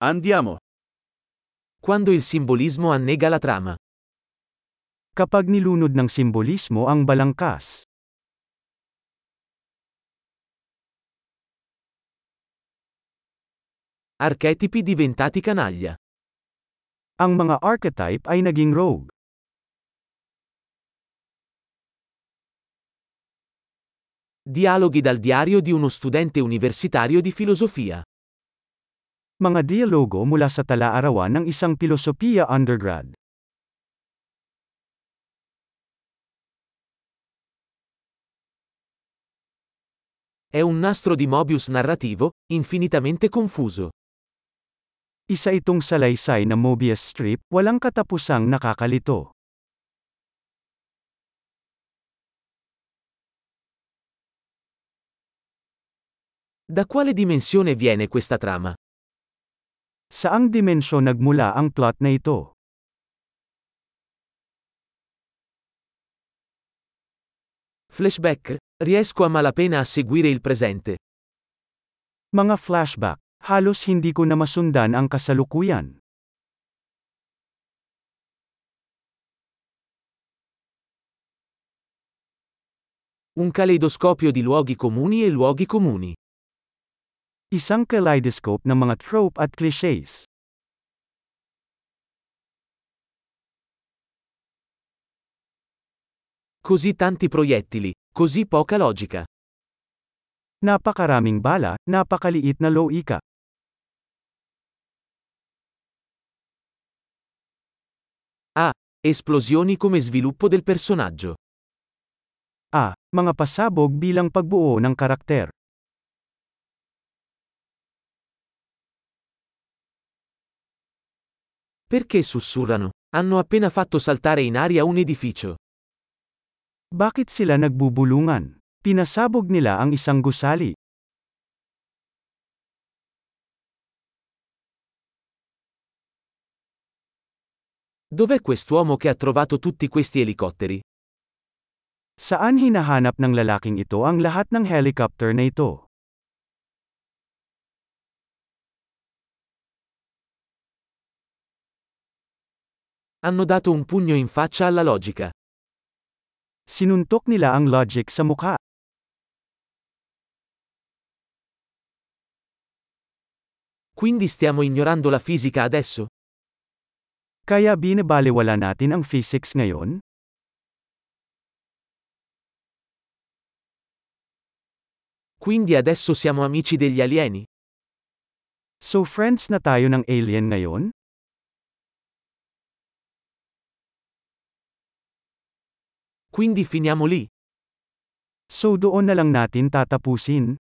Andiamo. Quando il simbolismo annega la trama. Kapag nilunod ng simbolismo ang balangkas. Archetipi diventati canaglia. Ang mga archetype ay naging rogue. Dialoghi dal diario di uno studente universitario di filosofia. Mga dialogo mula sa tala-arawan ng isang pilosopiya undergrad. È un nastro di Mobius narrativo, infinitamente confuso. Isa itong salaysay na Mobius strip, walang katapusang nakakalito. Da quale dimensione viene questa trama? Saang dimensyon nagmula ang plot na ito? Flashback? Riesco a malapena a seguire il presente. Mga flashback. Halos hindi ko na masundan ang kasalukuyan. Un caleidoscopio di luoghi comuni e luoghi comuni. Isang kaleidoscope ng mga trope at clichés. Così tanti proiettili, così poca logica. Napakaraming bala, napakaliit na loika. Esplosioni come sviluppo del personaggio. Mga pasabog bilang pagbuo ng karakter. Perché sussurrano? Hanno appena fatto saltare in aria un edificio. Bakit sila nagbubulungan? Pinasabog nila ang isang gusali. Dov'è quest'uomo che ha trovato tutti questi elicotteri? Saan hinahanap ng lalaking ito ang lahat ng helicopter na ito? Hanno dato un pugno in faccia alla logica. Sinuntok nila ang logic sa mukha. Quindi stiamo ignorando la fisica adesso? Kaya binabalewala natin ang physics ngayon? Quindi adesso siamo amici degli alieni? So friends na tayo ng alien ngayon? Quindi finiamo lì? So doon na lang natin tatapusin?